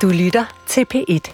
Du lytter til P1.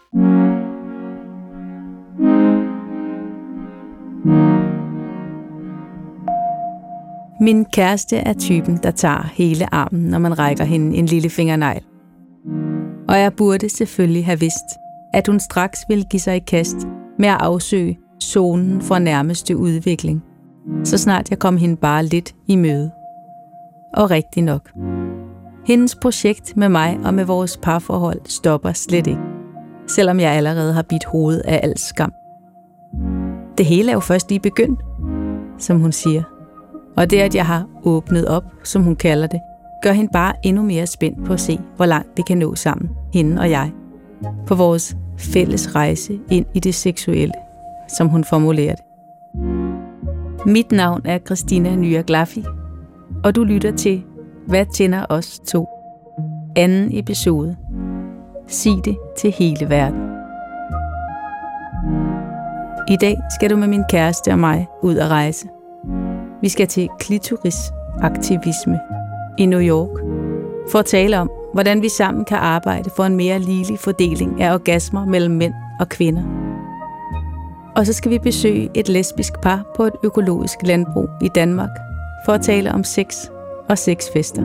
Min kæreste er typen, der tager hele armen, når man rækker hende en lille fingernegl. Og jeg burde selvfølgelig have vidst, at hun straks ville give sig i kast med at afsøge zonen for nærmeste udvikling, så snart jeg kom hende bare lidt i møde. Og rigtig nok. Hendes projekt med mig og med vores parforhold stopper slet ikke, selvom jeg allerede har bidt hovedet af al skam. Det hele er jo først lige begyndt, som hun siger. Og det, at jeg har åbnet op, som hun kalder det, gør hende bare endnu mere spændt på at se, hvor langt det kan nå sammen, hende og jeg, på vores fælles rejse ind i det seksuelle, som hun formulerer det. Mit navn er Christina Nyaglaffi, og du lytter til Hvad tænder os to? Anden episode. Sig det til hele verden. I dag skal du med min kæreste og mig ud at rejse. Vi skal til klitorisaktivisme i New York for at tale om, hvordan vi sammen kan arbejde for en mere ligelig fordeling af orgasmer mellem mænd og kvinder. Og så skal vi besøge et lesbisk par på et økologisk landbrug i Danmark for at tale om sex og sexfester.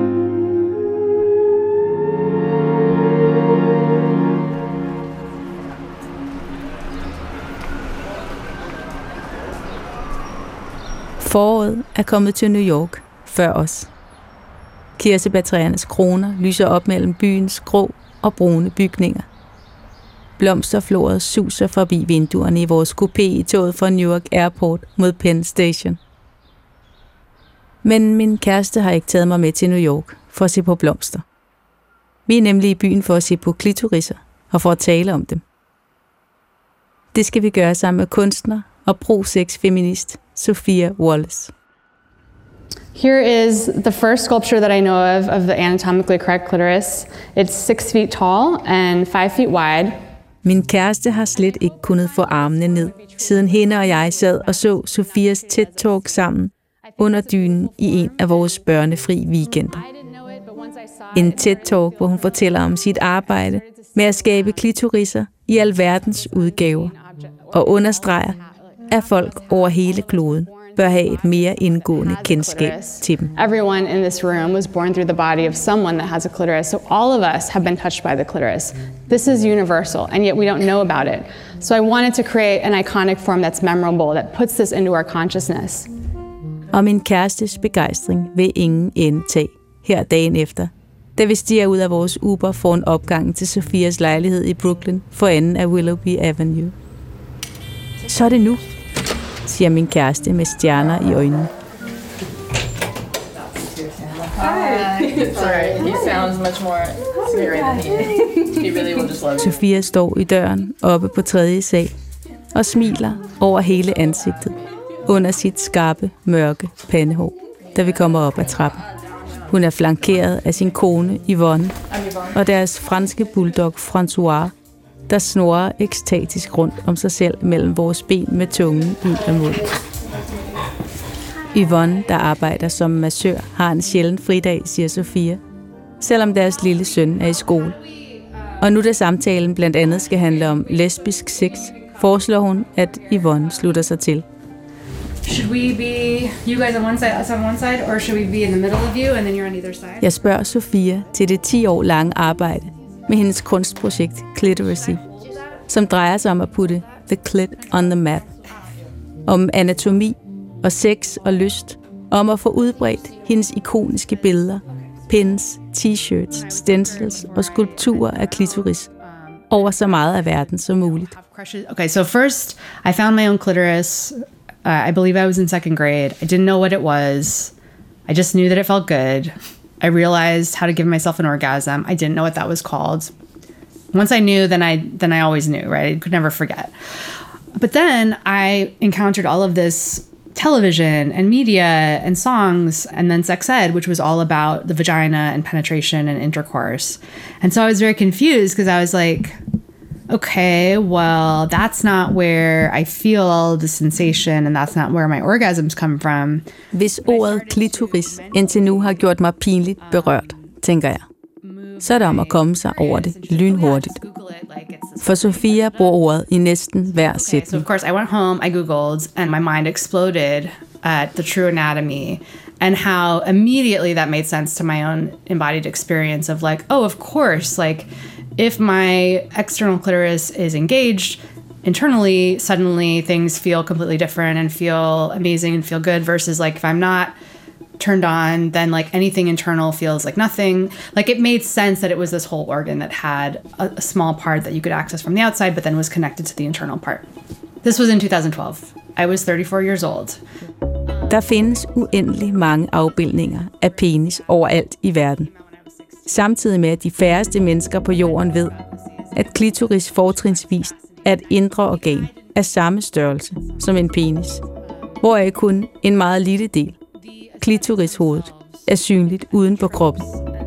Foråret er kommet til New York før os. Kirsebærtræernes kroner lyser op mellem byens grå og brune bygninger. Blomsterfloret suser forbi vinduerne i vores coupé i toget fra Newark Airport mod Penn Station. Men min kæreste har ikke taget mig med til New York for at se på blomster. Vi er nemlig i byen for at se på klitoriser og for at tale om dem. Det skal vi gøre sammen med kunstner og pro-sex-feminist Sophia Wallace. Here is the first sculpture that I know of the anatomically correct clitoris. It's 6 feet tall and 5 feet wide. Min kæreste har slet ikke kunnet få armene ned, siden hende og jeg sad og så Sophias TED-talk sammen under dynen i en af vores børnefri weekender. En TED-talk, hvor hun fortæller om sit arbejde med at skabe klitoriser i alverdens udgaver, og understreger, at folk over hele kloden bør have et mere indgående kendskab til dem. Everyone in this room was born through the body of someone that has a clitoris, so all of us have been touched by the clitoris. This is universal, and yet we don't know about it. So I wanted to create an iconic form that's memorable, that puts this into our consciousness. Og min kærestes begejstring vil ingen ende tage her dagen efter, da vi stiger ud af vores Uber foran opgangen til Sophias lejlighed i Brooklyn for enden af Willoughby Avenue. Så er det nu, siger min kæreste med stjerner i øjnene. Sorry, he sounds much more scary than he really will just love you. Sophia står i døren oppe på 3. sal og smiler over hele ansigtet under sit skarpe, mørke pandehår, da vi kommer op ad trappen. Hun er flankeret af sin kone Yvonne og deres franske bulldog François, der snurrer ekstatisk rundt om sig selv mellem vores ben med tungen ud af munden. Yvonne, der arbejder som massør, har en sjælden fridag, siger Sophia, selvom deres lille søn er i skole. Og nu da samtalen blandt andet skal handle om lesbisk sex, foreslår hun, at Yvonne slutter sig til. Should we be you guys on one side, us on one side, or should we be in the middle of you and then you're on either side? Jeg spørger Sophia til det 10 år lange arbejde med hendes kunstprojekt Clitorisy, som drejer sig om at putte the clit on the map. Om anatomi og sex og lyst, om at få udbredt hendes ikoniske billeder, pins, t-shirts, stencils og skulpturer af klitoris over så meget af verden som muligt. Okay, so first I found my own clitoris. I believe I was in 2nd grade. I didn't know what it was. I just knew that it felt good. I realized how to give myself an orgasm. I didn't know what that was called. Once I knew, then I always knew, right? I could never forget. But then I encountered all of this television and media and songs, and then sex ed, which was all about the vagina and penetration and intercourse. And so I was very confused because I was like, okay, well, that's not where I feel the sensation, and that's not where my orgasms come from. Hvis ordet klitoris indtil nu har gjort mig pinligt berørt, tænker jeg, så er det om at komme sig over det lynhurtigt. For Sofia bruger ordet i næsten hver sætning. So of course I went home, I googled, and my mind exploded at the true anatomy and how immediately that made sense to my own embodied experience of like, oh, of course, like if my external clitoris is engaged internally, suddenly things feel completely different and feel amazing and feel good versus like if I'm not turned on, then like anything internal feels like nothing. Like it made sense that it was this whole organ that had a small part that you could access from the outside, but then was connected to the internal part. This was in 2012. I was 34 years old. Der findes uendelig mange afbildninger af penis overalt i verden. Samtidig med, at de færreste mennesker på jorden ved, at klitoris fortrinsvist er et indre organ af samme størrelse som en penis, hvoraf kun en meget lille del, klitorishovedet, er synligt uden på kroppen.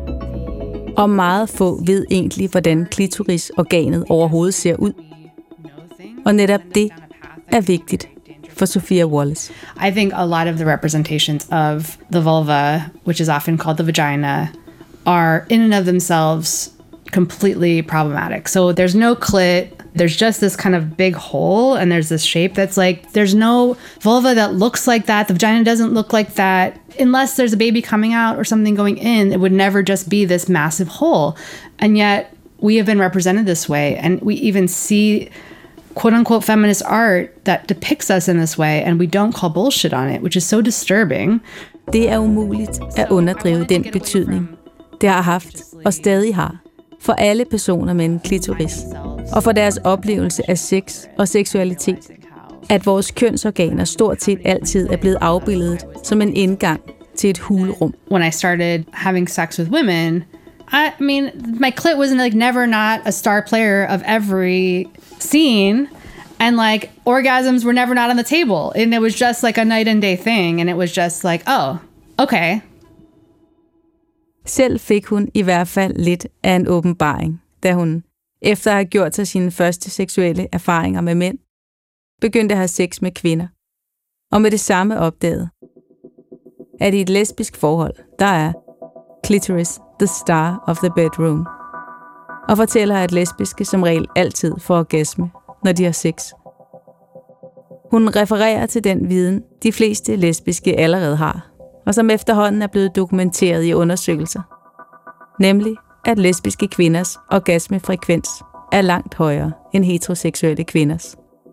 Og meget få ved egentlig, hvordan klitorisorganet overhovedet ser ud. Og netop det er vigtigt for Sophia Wallace. I think a lot of the representations of the vulva, which is often called the vagina, are in and of themselves completely problematic. So there's no clit, there's just this kind of big hole, and there's this shape that's like, there's no vulva that looks like that. The vagina doesn't look like that. Unless there's a baby coming out or something going in, it would never just be this massive hole. And yet we have been represented this way, and we even see quote-unquote feminist art that depicts us in this way, and we don't call bullshit on it, which is so disturbing. Det er umuligt at underdrive den betydning, det har haft og stadig har for alle personer med en klitoris, og for deres oplevelse af sex og seksualitet, at vores kønsorganer stort set altid er blevet afbildet som en indgang til et hulrum. When I started having sex with women, I mean, my clit was like never not a star player of every scene, and like orgasms were never not on the table, and it was just like a night and day thing, and it was just like, oh, okay. Selv fik hun i hvert fald lidt af en åbenbaring, da hun, efter at have gjort sig sine første seksuelle erfaringer med mænd, begyndte at have sex med kvinder, og med det samme opdagede, at i et lesbisk forhold, der er clitoris the star of the bedroom, og fortæller, at lesbiske som regel altid får orgasme, når de har sex. Hun refererer til den viden, de fleste lesbiske allerede har, og som efterhånden er blevet dokumenteret i undersøgelser, nemlig at lesbiske kvinders orgasmefrekvens er langt højere end heteroseksuelle kvinders.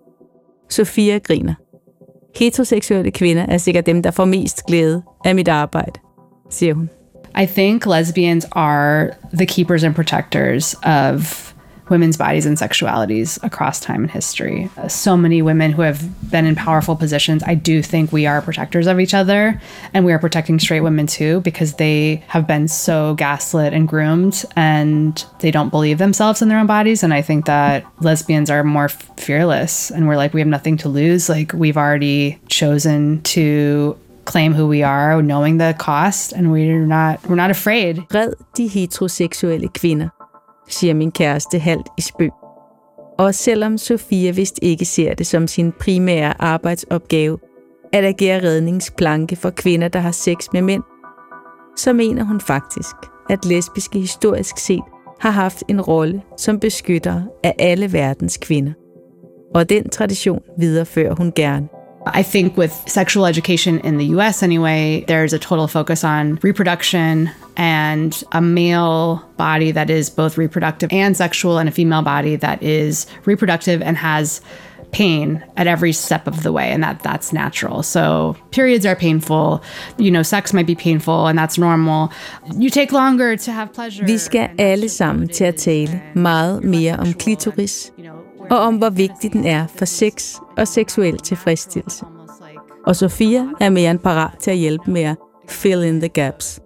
Sofia griner. Heteroseksuelle kvinder er sikkert dem, der får mest glæde af mit arbejde, siger hun. I think lesbians are the keepers and protectors of women's bodies and sexualities across time and history. So many women who have been in powerful positions, I do think we are protectors of each other, and we are protecting straight women too, because they have been so gaslit and groomed, and they don't believe themselves in their own bodies. And I think that lesbians are more fearless, and we're like, we have nothing to lose. Like, we've already chosen to claim who we are, knowing the cost, and we're not afraid. Red de heteroseksuelle kvinder, siger min kæreste halvt i spøg. Og selvom Sofia vist ikke ser det som sin primære arbejdsopgave at agere redningsplanke for kvinder, der har sex med mænd, så mener hun faktisk, at lesbiske historisk set har haft en rolle som beskytter af alle verdens kvinder. Og den tradition viderefører hun gerne. I think with sexual education in the US anyway, there's a total focus on reproduction and a male body that is both reproductive and sexual, and a female body that is reproductive and has pain at every step of the way, and that's natural. So periods are painful, sex might be painful, and that's normal. You take longer to have pleasure. Vi skal alle sammen til at tale meget mere om klitoris, og om hvor vigtig den er for sex og seksuel tilfredsstillelse. Og Sofia er mere end parat til at hjælpe med at fill in the gaps.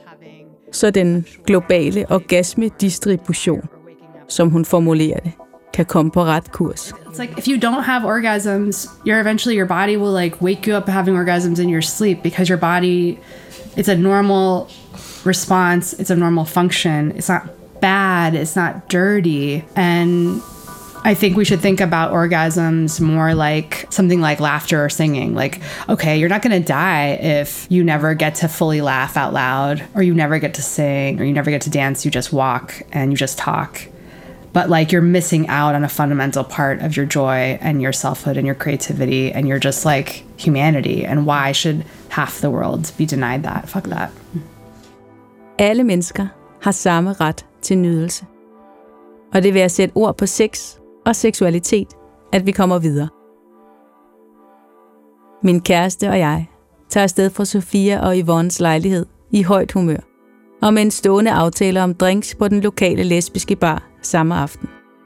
Så den globale orgasmedistribution, som hun formulerer det, kan komme på ret kurs. It's like if you don't have orgasms, your body will like wake you up having orgasms in your sleep, because your body, it's a normal response, it's a normal function. It's not bad, it's not dirty, and I think we should think about orgasms more like something like laughter or singing. Like, okay, you're not going to die if you never get to fully laugh out loud, or you never get to sing, or you never get to dance. You just walk and you just talk. But like, you're missing out on a fundamental part of your joy and your selfhood and your creativity, and you're just like humanity. And why should half the world be denied that? Fuck that. Alle mennesker har samme ret til nydelse. Og det er ved at sætte ord på sex og seksualitet, at vi kommer videre. Min kæreste og jeg tager afsted fra Sofia og Yvonnes lejlighed i højt humør, og med en stående aftale om drinks på den lokale lesbiske bar samme aften.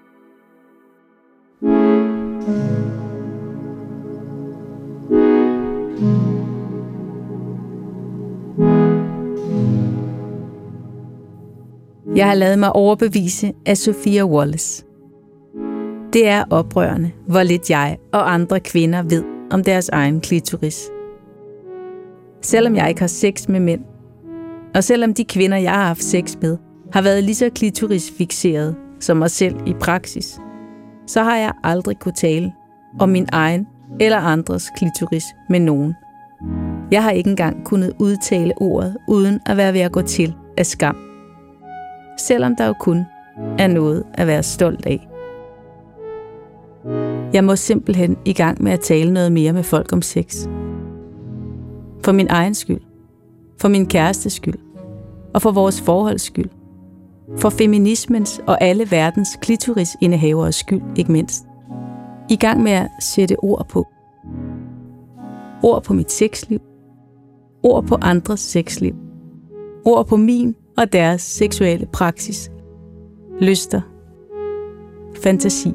Jeg har ladet mig overbevise af Sophia Wallace. Det er oprørende, hvor lidt jeg og andre kvinder ved om deres egen klitoris. Selvom jeg ikke har sex med mænd, og selvom de kvinder, jeg har haft sex med, har været lige så klitorisfixeret som mig selv i praksis, så har jeg aldrig kunne tale om min egen eller andres klitoris med nogen. Jeg har ikke engang kunnet udtale ordet uden at være ved at gå til af skam. Selvom der jo kun er noget at være stolt af. Jeg må simpelthen i gang med at tale noget mere med folk om sex. For min egen skyld. For min kærestes skyld. Og for vores forholds skyld. For feminismens og alle verdens klitorisindehaveres skyld, ikke mindst. I gang med at sætte ord på. Ord på mit sexliv. Ord på andres sexliv. Ord på min og deres seksuelle praksis. Lyster. Fantasier.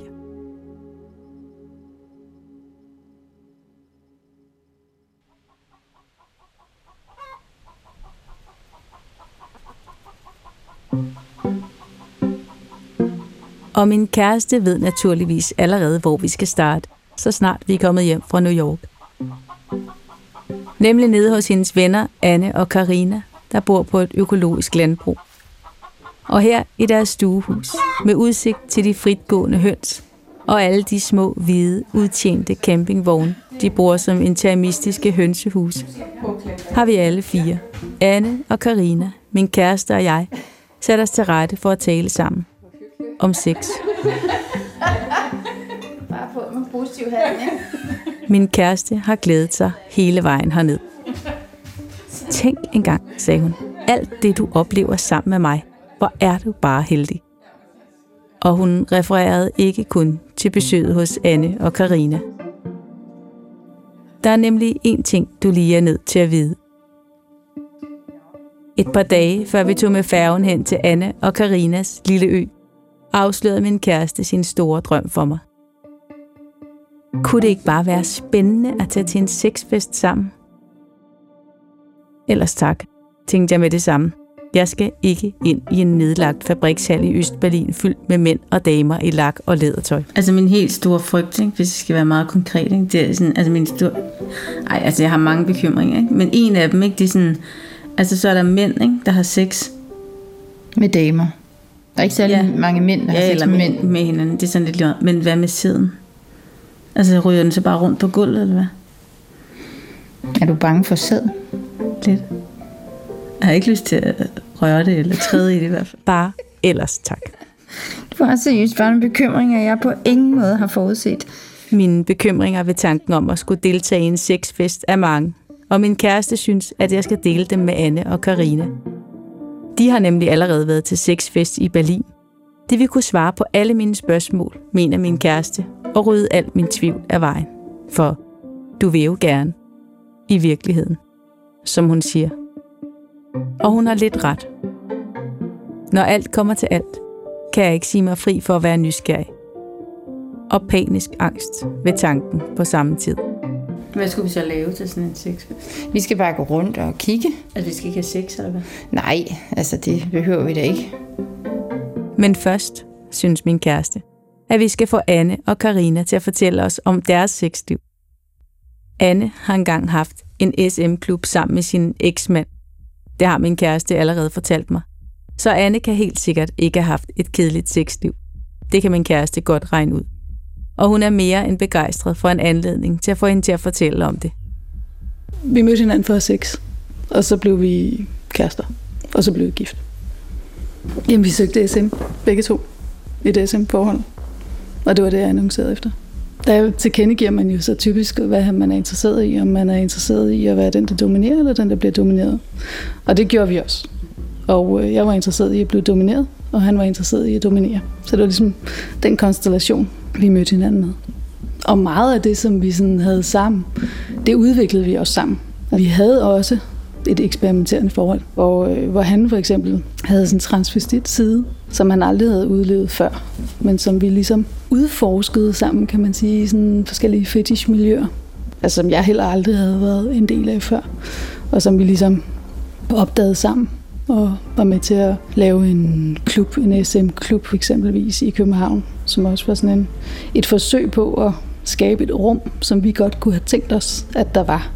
Og min kæreste ved naturligvis allerede, hvor vi skal starte, så snart vi er kommet hjem fra New York. Nemlig nede hos hendes venner Anne og Karina, der bor på et økologisk landbrug. Og her i deres stuehus, med udsigt til de fritgående høns, og alle de små, hvide, udtjente campingvogne, de bruger som interimistiske hønsehuse, har vi alle fire, Anne og Karina, min kæreste og jeg, sat os til rette for at tale sammen. Om sex. Bare på med positiv handling. Min kæreste har glædet sig hele vejen herned. Tænk engang, sagde hun. Alt det, du oplever sammen med mig, hvor er du bare heldig. Og hun refererede ikke kun til besøget hos Anne og Karina. Der er nemlig én ting, du lige er nødt til at vide. Et par dage, før vi tog med færgen hen til Anne og Karinas lille ø, afslørede min kæreste sin store drøm for mig. Kunne det ikke bare være spændende at tage til en sexfest sammen? Ellers tak, tænkte jeg med det samme. Jeg skal ikke ind i en nedlagt fabrikshal i Østberlin fyldt med mænd og damer i lak og lædertøj. Altså min helt store frygt, ikke, hvis det skal være meget konkret, ikke, det er sådan, altså min store... jeg har mange bekymringer, ikke, men en af dem, ikke, det er sådan, altså så er der mænd, ikke, der har sex med damer. Der er ikke særlig mange mænd, der har sex med mænd. Med hinanden, det er sådan lidt lige. Men hvad med sæden? Altså ryger den så bare rundt på gulvet, eller hvad? Er du bange for sæd? Lidt. Jeg har ikke lyst til at røre det, eller træde i det i hvert fald. Bare ellers tak. Du har seriøst bare nogle bekymringer, jeg på ingen måde har forudset. Mine bekymringer ved tanken om at skulle deltage i en sexfest er mange, og min kæreste synes, at jeg skal dele dem med Anne og Karina. De har nemlig allerede været til sexfest i Berlin. De vil kunne svare på alle mine spørgsmål, mener min kæreste, og rydde alt min tvivl af vejen. For du vil jo gerne. I virkeligheden. Som hun siger. Og hun har lidt ret. Når alt kommer til alt, kan jeg ikke sige mig fri for at være nysgerrig. Og panisk angst ved tanken på samme tid. Hvad skulle vi så lave til sådan en sexfest? Vi skal bare gå rundt og kigge. Altså vi skal ikke have sex, eller hvad? Nej, altså det behøver vi da ikke. Men først, synes min kæreste, at vi skal få Anne og Karina til at fortælle os om deres sexliv. Anne har engang haft en SM-klub sammen med sin eksmand. Det har min kæreste allerede fortalt mig. Så Anne kan helt sikkert ikke have haft et kedeligt sexliv. Det kan min kæreste godt regne ud. og hun er mere end begejstret for en anledning til at få hende til at fortælle om det. Vi mødte hinanden for 6, og så blev vi kærester, og så blev vi gift. Jamen, vi søgte SM, begge to, i et SM-forhold, og det var det, jeg annoncerede efter. Der tilkendegiver man jo så typisk, hvad man er interesseret i, om man er interesseret i at være den, der dominerer, eller den, der bliver domineret. Og det gjorde vi også. Og jeg var interesseret i at blive domineret, og han var interesseret i at dominere. Så det var ligesom den konstellation, vi mødte hinanden med. Og meget af det, som vi sådan havde sammen, det udviklede vi også sammen. Vi havde også et eksperimenterende forhold, hvor han for eksempel havde sådan en transvestit side, som han aldrig havde udlevet før, men som vi ligesom udforskede sammen, kan man sige, i sådan forskellige fetishmiljøer, altså som jeg heller aldrig havde været en del af før, og som vi ligesom opdagede sammen, og var med til at lave en klub, en SM-klub eksempelvis i København, som også var sådan et forsøg på at skabe et rum, som vi godt kunne have tænkt os, at der var.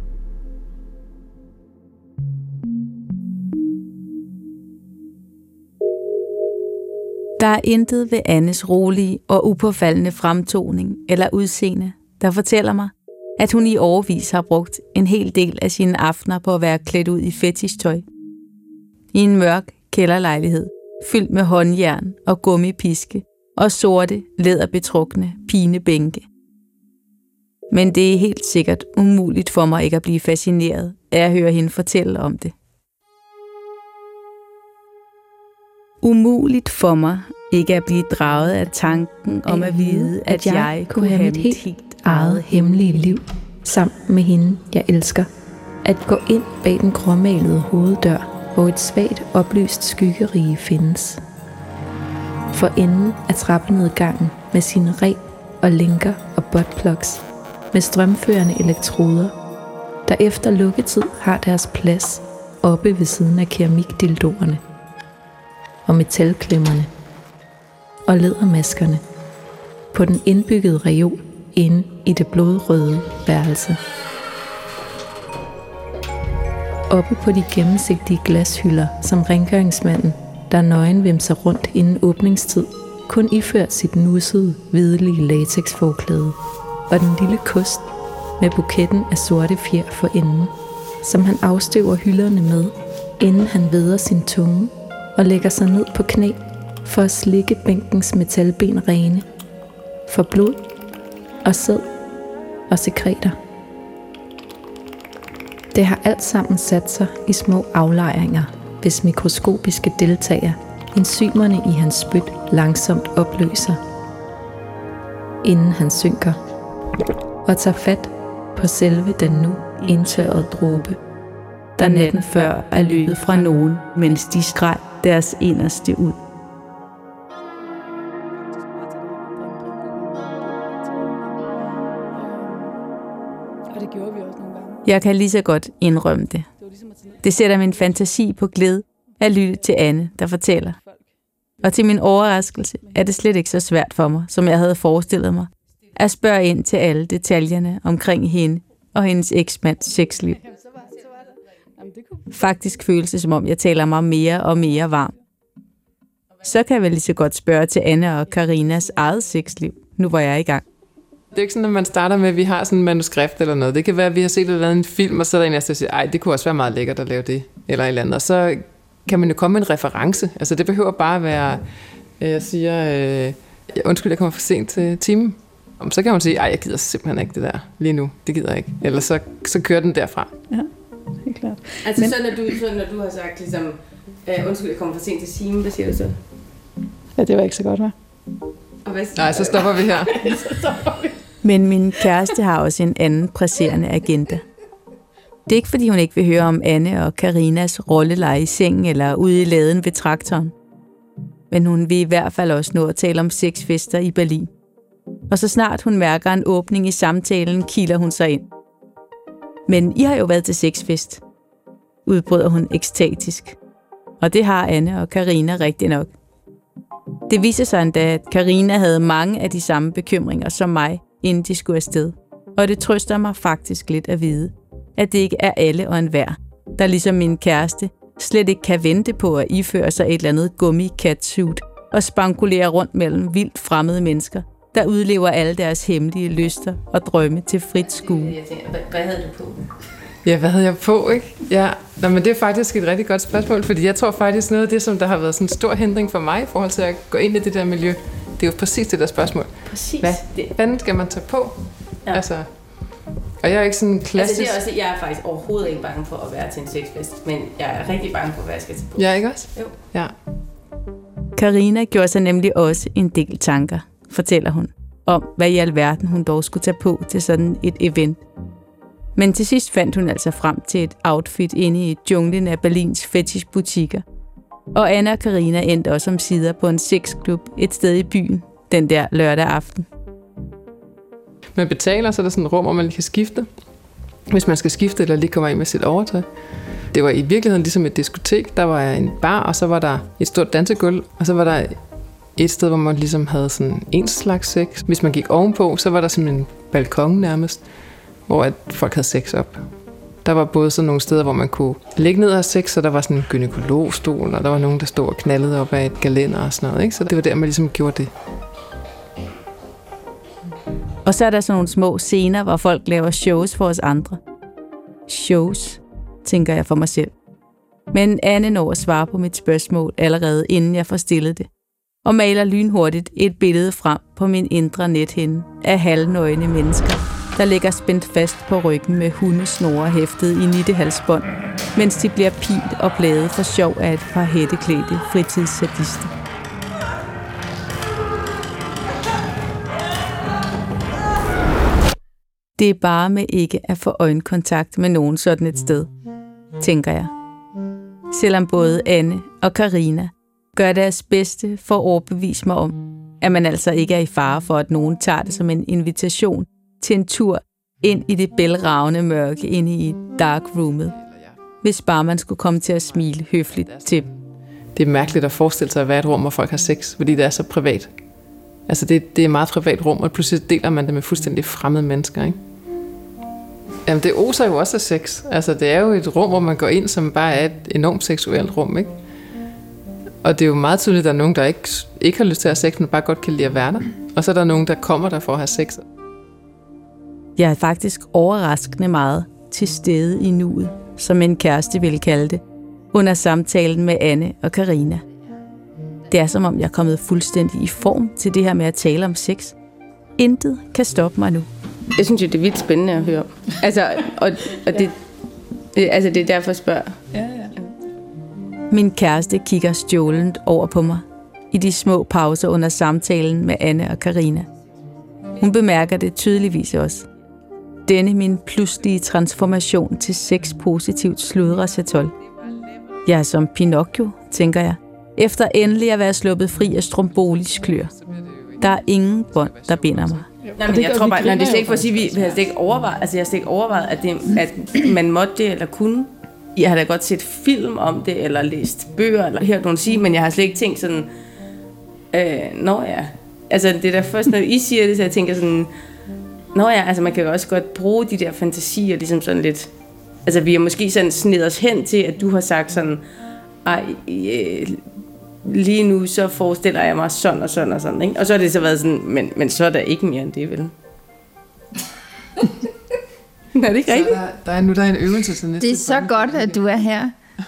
Der er intet ved Annes rolige og upåfaldende fremtoning eller udseende, der fortæller mig, at hun i årevis har brugt en hel del af sine aftener på at være klædt ud i fetishtøj. I en mørk kælderlejlighed, fyldt med håndjern og gummipiske og sorte, læderbetrukne pinebænke. Men det er helt sikkert umuligt for mig ikke at blive fascineret af at høre hende fortælle om det. Umuligt for mig ikke at blive draget af tanken om at vide, at jeg kunne have mit helt eget hemmelige liv sammen med hende, jeg elsker. At gå ind bag den gråmalede hoveddør, hvor et svagt oplyst skyggerige findes. For enden af trappenedgangen med sine reb og linker og buttplugs med strømførende elektroder, der efter lukketid har deres plads oppe ved siden af keramikdildoerne og metalklemmerne og lædermaskerne på den indbyggede reol inde i det blodrøde værelse. Oppe på de gennemsigtige glashylder, som rengøringsmanden, der nøgenvimser rundt inden åbningstid, kun iført sit nussede, hvidelige latexforklæde, og den lille kost med buketten af sorte fjer for enden, som han afstøver hylderne med, inden han væder sin tunge og lægger sig ned på knæ for at slikke bænkens metalben rene for blod og sæd og sekreter. Det har alt sammen sat sig i små aflejringer, hvis mikroskopiske deltager enzymerne i hans spyt langsomt opløser, inden han synker og tager fat på selve den nu indtørrede dråbe, der natten før er løbet fra nogen, mens de skreg deres inderste ud. Jeg kan lige så godt indrømme det. Det sætter min fantasi på glæde at lytte til Anne, der fortæller. Og til min overraskelse er det slet ikke så svært for mig, som jeg havde forestillet mig, at spørge ind til alle detaljerne omkring hende og hendes eksmands sexliv. Faktisk føles det, som om jeg taler mig mere og mere varm. Så kan jeg vel lige så godt spørge til Anne og Karinas eget sexliv, nu hvor jeg er i gang. Det er ikke sådan, at man starter med, at vi har sådan en manuskript eller noget. Det kan være, at vi har set en film, og så er der en, der siger, ej, det kunne også være meget lækkert at lave det, eller et eller andet. Og så kan man jo komme med en reference. Altså, det behøver bare at være, jeg siger, undskyld, jeg kommer for sent til timen. Så kan man sige, ej, jeg gider simpelthen ikke det der lige nu. Det gider jeg ikke. Eller så kører den derfra. Ja, helt klart. Altså, men, så når du har sagt, ligesom, undskyld, jeg kommer for sent til timen, hvad siger du så? Ja, det var ikke så godt, hva'? Nej, så stopper vi her. Men min kæreste har også en anden presserende agenda. Det er ikke, fordi hun ikke vil høre om Anne og Karinas rolleleje i sengen eller ude i laden ved traktoren. Men hun vil i hvert fald også nå at tale om sexfester i Berlin. Og så snart hun mærker en åbning i samtalen, kiler hun sig ind. Men I har jo været til sexfest, udbryder hun ekstatisk. Og det har Anne og Karina rigtig nok. Det viser sig endda, at Karina havde mange af de samme bekymringer som mig, inden de skulle afsted. Og det trøster mig faktisk lidt at vide, at det ikke er alle og enhver, der ligesom min kæreste slet ikke kan vente på at iføre sig et eller andet gummi-catsuit og spankulere rundt mellem vildt fremmede mennesker der udlever alle deres hemmelige lyster og drømme til frit skue. Jeg tænker, hvad havde du på? Ja, hvad havde jeg på, ikke? Ja, men det er faktisk et rigtig godt spørgsmål, fordi jeg tror faktisk noget af det, som der har været sådan en stor hindring for mig i forhold til at gå ind i det der miljø, det er jo præcis det der spørgsmål. Præcis. Hvad skal man tage på? Ja. Altså, og jeg er ikke sådan klassisk... Altså det er også, jeg er faktisk overhovedet ikke bange for at være til en sexfest, men jeg er rigtig bange for, hvad jeg skal tage på. Ja, ikke også? Jo. Ja. Karina gjorde sig nemlig også en del tanker, fortæller hun, om hvad i alverden hun dog skulle tage på til sådan et event. Men til sidst fandt hun altså frem til et outfit inde i junglen af Berlins fetishbutikker. Og Anna og Karina endte også omsider på en sexklub et sted i byen den der lørdag aften. Man betaler, så er der sådan et rum, hvor man kan skifte. Hvis man skal skifte eller lige kommer ind med sit overtøj. Det var i virkeligheden ligesom et diskotek. Der var en bar, og så var der et stort dansegulv, og så var der et sted, hvor man ligesom havde sådan en slags sex. Hvis man gik ovenpå, så var der simpelthen en balkon nærmest, hvor at folk havde sex op. Der var både sådan nogle steder, hvor man kunne ligge ned og have sex, og der var sådan en gynekologstol, og der var nogen, der stod og knaldede op af et gelænder og sådan noget, ikke? Så det var der, man ligesom gjorde det. Og så er der sådan nogle små scener, hvor folk laver shows for os andre. Shows, tænker jeg for mig selv. Men Anne når at svare på mit spørgsmål allerede, inden jeg får stillet det. Og maler lynhurtigt et billede frem på min indre nethinde af halvnøgne mennesker, der ligger spændt fast på ryggen med hundesnore hæftet i nittehalsbånd, mens de bliver pilt og plaget for sjov af et par hætteklædte fritidssadister. Det er bare med ikke at få øjenkontakt med nogen sådan et sted, tænker jeg. Selvom både Anne og Karina gør deres bedste for at overbevise mig om, at man altså ikke er i fare for, at nogen tager det som en invitation til en tur ind i det bælragende mørke inde i dark roomet, hvis bare man skulle komme til at smile høfligt til dem. Det er mærkeligt at forestille sig at være et rum, hvor folk har sex, fordi det er så privat. Altså det er et meget privat rum, og pludselig deler man det med fuldstændig fremmede mennesker, ikke? Jamen det oser jo også af sex. Altså det er jo et rum, hvor man går ind, som bare er et enormt seksuelt rum, ikke? Og det er jo meget tydeligt, at der er nogen, der ikke har lyst til at have sex, men bare godt kan lide at være der. Og så er der nogen, der kommer der for at have sex. Jeg er faktisk overraskende meget til stede i nuet, som en kæreste ville kalde det, under samtalen med Anne og Karina. Det er som om, jeg er kommet fuldstændig i form til det her med at tale om sex. Intet kan stoppe mig nu. Jeg synes jo, det er vildt spændende at høre. Altså, og det er derfor, jeg spørger. Ja. Min kæreste kigger stjålent over på mig i de små pauser under samtalen med Anne og Karina. Hun bemærker det tydeligvis også. Denne min pludselige transformation til sexpositivt sludresatol. Jeg er som Pinocchio, tænker jeg, efter endelig at være sluppet fri af strombolisk klør. Der er ingen bånd, der binder mig. Nej, men jeg tror bare, det er slet ikke for at sige, vi har slet ikke overvejet, altså jeg har slet ikke overvejet, at man måtte det eller kunne. Jeg har da godt set film om det, eller læst bøger, eller hørt nogen sige, men jeg har slet ikke tænkt sådan, nå ja. Altså det er da først, når I siger det, så jeg tænker sådan, nå ja, altså man kan jo også godt bruge de der fantasier, ligesom sådan lidt, altså vi har måske sådan snedet os hen til, at du har sagt sådan, lige nu så forestiller jeg mig sådan og sådan og sådan, ikke? Og så har det så været sådan, men så er der ikke mere end det, vel? Er det ikke rigtigt? Der er en øvelse til næste. Det er så godt, at du er her.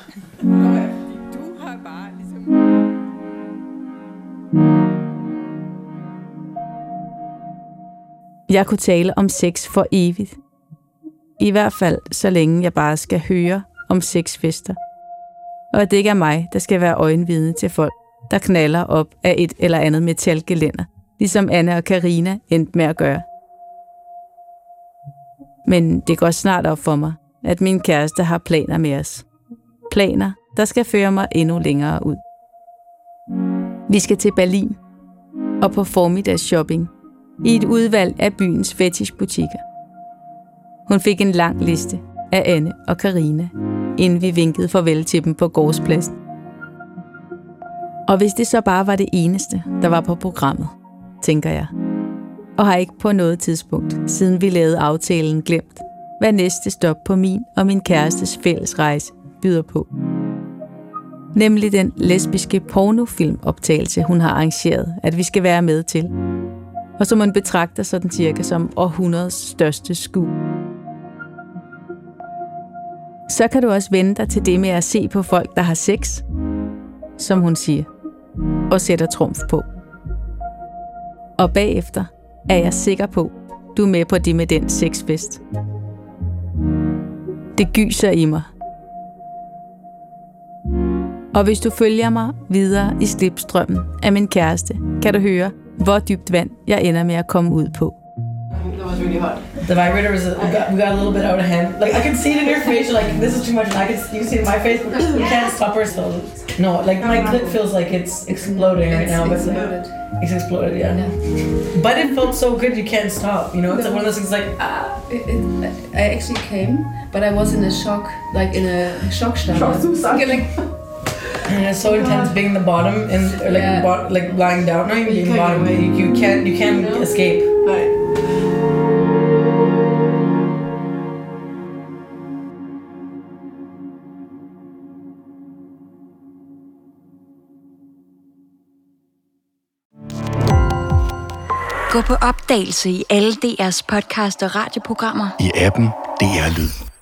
Jeg kunne tale om sex for evigt. I hvert fald, så længe jeg bare skal høre om sexfester. Og at det ikke er mig, der skal være øjenvidne til folk, der knaller op af et eller andet metalgelænder, ligesom Anne og Karina endte med at gøre. Men det går snart op for mig, at min kæreste har planer med os. Planer, der skal føre mig endnu længere ud. Vi skal til Berlin og på formiddagsshopping i et udvalg af byens fetishbutikker. Hun fik en lang liste af Anne og Karina, inden vi vinkede farvel til dem på gårdspladsen. Og hvis det så bare var det eneste, der var på programmet, tænker jeg, og har ikke på noget tidspunkt, siden vi lavede aftalen, glemt, hvad næste stop på min og min kærestes fælles rejse byder på. Nemlig den lesbiske pornofilmoptagelse, hun har arrangeret, at vi skal være med til. og som man betragter sådan cirka som århundredets største skue. Så kan du også vende dig til det med at se på folk, der har sex, som hun siger, og sætter trumf på. Og bagefter er jeg sikker på, du er med på det med den sexfest. Det gyser i mig. Og hvis du følger mig videre i slipstrømmen af min kæreste, kan du høre, hvor dybt vand jeg ender med at komme ud på. That was really hot. The vibrator was, we got a little bit out of hand. Like, I can see it in your face, you're like, this is too much, and you can see it in my face, we can't stop ourselves. No, like, my clit feels like it's exploding right now, but it's exploded, yeah. But it felt so good, you can't stop, you know? It's like one of those things like, I actually came, but I was in a shock, like in a shock and it's so intense being the bottom and like lying down, not even being bottom, you can't escape. Right. Gå på opdagelse i alle DR's podcast og radioprogrammer. I appen DR Lyd.